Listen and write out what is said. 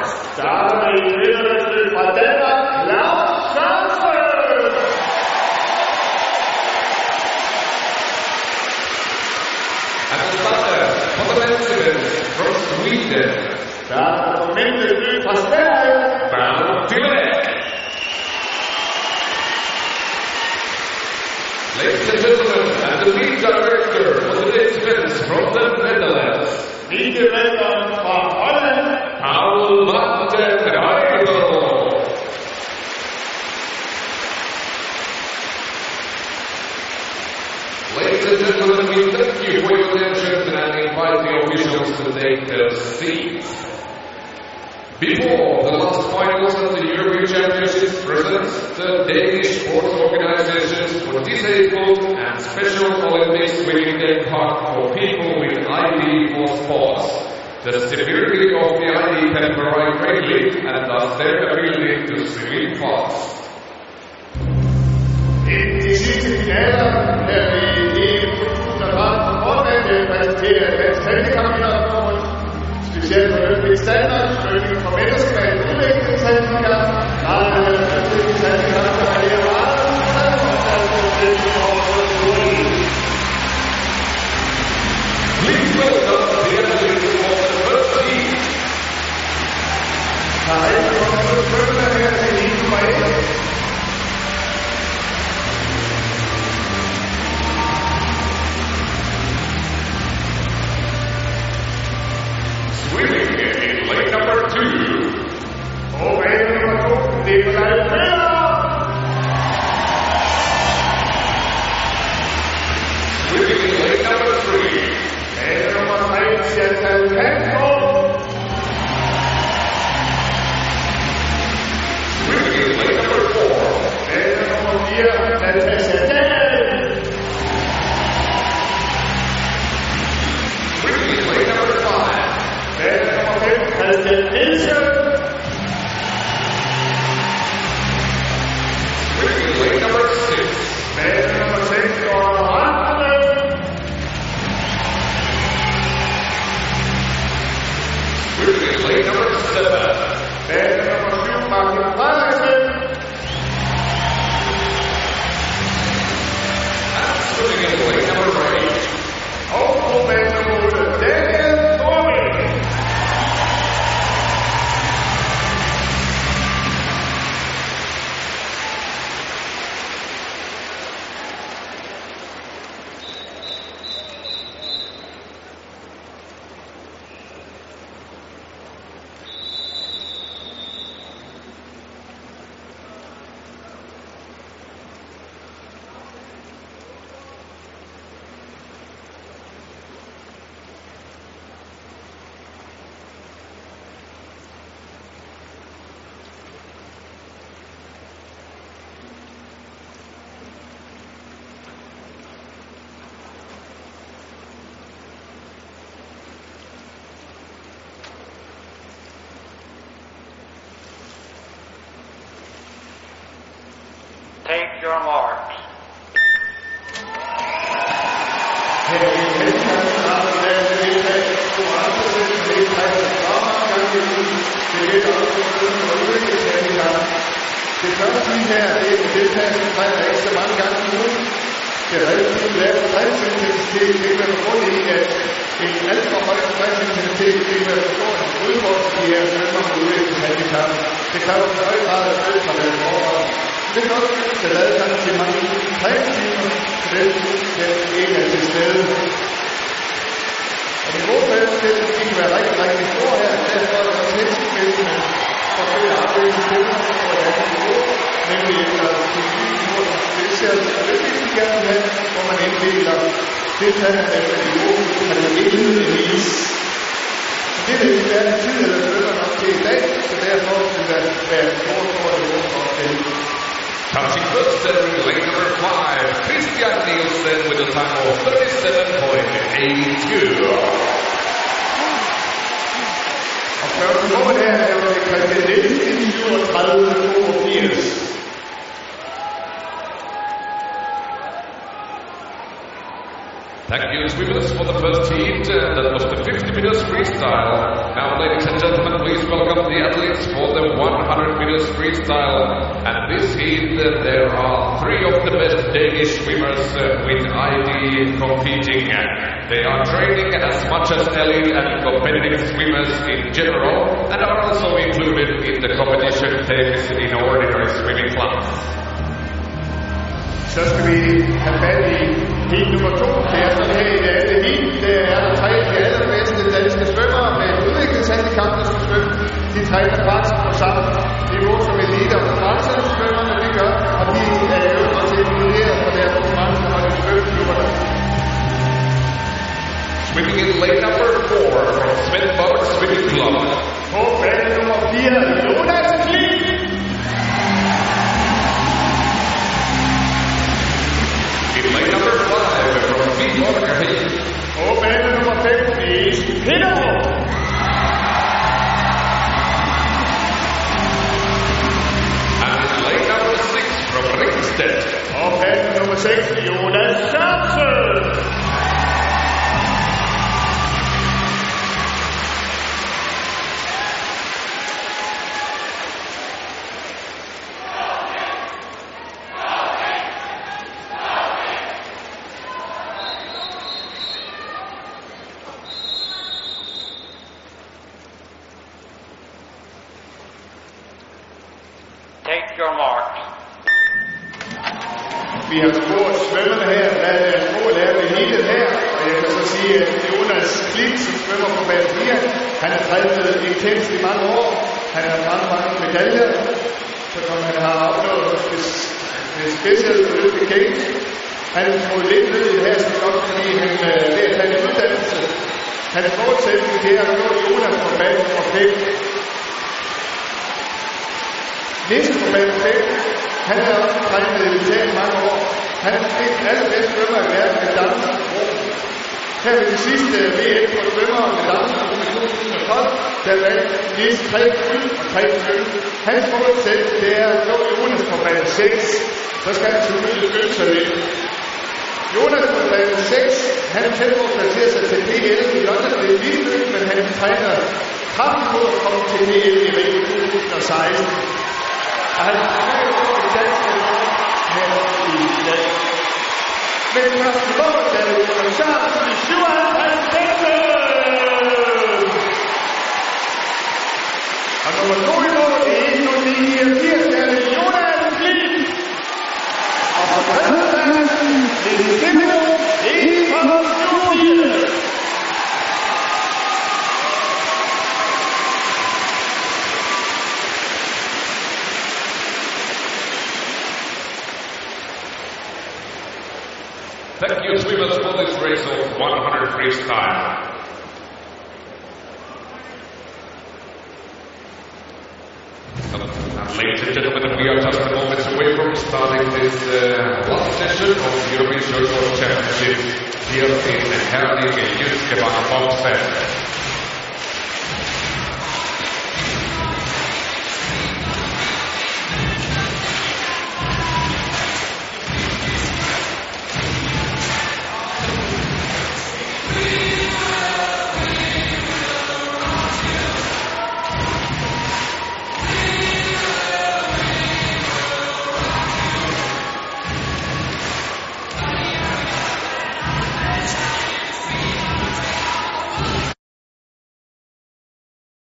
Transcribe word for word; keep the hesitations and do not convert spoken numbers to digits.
starter med en vinderløb fra Danmark, Claus Sørensen. And the starter for the men's event from Sweden. Starter for mændenes løb fra Sverige, Bernard Tillich. Ladies and gentlemen, and the lead director for the day's events from the Netherlands. Ligevælderen fra Holland, Paul Martin Heidel. Ladies and gentlemen, we thank you for your attention and invite the officials to take their seats. Before the last finals of the European Championships presents the Danish Sports Organizations for Disabled and Special Olympics Swimming Day Park for people with I D for sports. The severity of the I D can vary greatly and thus their ability to swim fast. inden de sidste finaler her i E M to tusind og tretten på Fortnite præsenterer Dansk Handicapidrætsforbund specielt for Olympisk Standard, Svømning for mennesker med et udviklingshandicap, Lejlighed for udviklingshandicap, der er her meget, og Please welcome the athletes for the first team. der er ikke kommet svømmer her til E M nummer et. Swimming in lane number two. Og bane nummer to, Nikolaj Møller. Swimming in lane number three. Bane nummer tre, Chantal Hansko. Swimming in lane number four. Bane nummer fire, Natasha Dahl. Swimming in lane number five. Bane nummer fem, Christian Nielsen. Swimming in lane number six. Bane nummer seks, Gordon Randle. Swimming in lane number seven. Bane nummer syv, Martin Frederiksen. And swimming in lane number eight. Og på bane nummer otte, Daniel Thorvig. Take your marks. Her i Helmand har der været deltaget to andre deltaget fremgang i ugen. Det er lidt også for udviklingshandicap. Det første lige her, det er deltaget omkring ikke så mange gange i ugen. Det er relativt lavt stressintensitet, det kan være grund i, at en alt for høj stressintensitet, det kan være for en udfordring i de her svømmer med udviklingshandicap. Det kræver en høj grad af følelserne forhold. Det er nok, der lavede sammen til mange tre timer, så den kan ikke er til stede. Og niveaufælden, det kan være rigtig, rigtig stor her, derfor er det også hensigtsmæssigt for at følge arbejdet til på et andet niveau, nemlig efter teknikniveau, det ser det vigtigt gerne med, hvor man inddeler deltagerne efter niveau, at man ikke indvis. Det vil ikke være en tid, eller følger nok til i dag, så derfor vil der være et stort, stort niveau for at finde. Touching first in lane number five, Christian Nielsen with a time of thirty-seven point eight two. Og første mål her er jo Christian Nielsen i syvogtredive toogfirs. Thank you, swimmers, for the first heat. Uh, that was the fifty meters freestyle. Now, ladies and gentlemen, please welcome welcome the athletes for the one hundred meters freestyle. And this heat, uh, there are three of the best Danish swimmers uh, with I D competing. They are training as much as elite and competitive swimmers in general, and are also included in the competition takes in ordinary swimming classes. Så skal vi have fat i heat nummer to. Det er sådan her i det andet heat. Det er der tre af de allerbedste danske svømmere med udviklingshandicap, der skal svømme. De træner faktisk på samme niveau som elite og konkurrencesvømmerne, de gør. Og de er jo også inkluderet på deres konkurrence, og de svømmeklubberne. Swimming in lane number four from Smith Bauer Swimming Club. På bane nummer fire, Jonas Klint. In lane number five from Pete Watergate. På bane nummer fem, Nis Peterhoff. And in lane number six from Ringsted. På bane nummer seks, Jonas Sørensen. Take your marks. Vi har spurgt svømmerne her, hvad deres mål er ved heatet her. Og jeg kan så sige, at Jonas Klint, som svømmer på bane fire, han har trænet intenst i mange år. Han har mange, mange medaljer, så som han har opnået med Special Olympic Games. Han har fået lidt ned i det her, så godt, fordi han øh, ved at tage en uddannelse. Hans målsætning det er at nå Jonas på bane for fem. Næste på bane fem, han har også trænet militæret i mange år. Han er måske den allerbedste svømmer i verden med dansen. Her ved det sidste V M for svømmere med dansen i to tusind og tolv, der vandt Niels tre guld og tre sølv. Hans målsætning det er at nå Jonas på bane seks. Så skal han selvfølgelig skynde sig lidt. Jonas på bane seks, han er tæt på at placere sig til P L i London. Det er vildt, men han træner kraftigt på at komme til P L i Rio to tusind og seksten. Og han er jo på en dansk her i dag. Men første mål, der er Jonas Sørensen i syvoghalvtreds meter. Og nummer to i mål, det er en nul niogfirs, der er Jonas Klint. Og på tredjepladsen, det er Simon, en komma syvogfirs. Thank you, swimmers, for this race of one hundred freestyle. And ladies and gentlemen, we are just a moment away from starting this uh, last session of the European Short Course Championship here in Herning, Jyskebang, Boxen.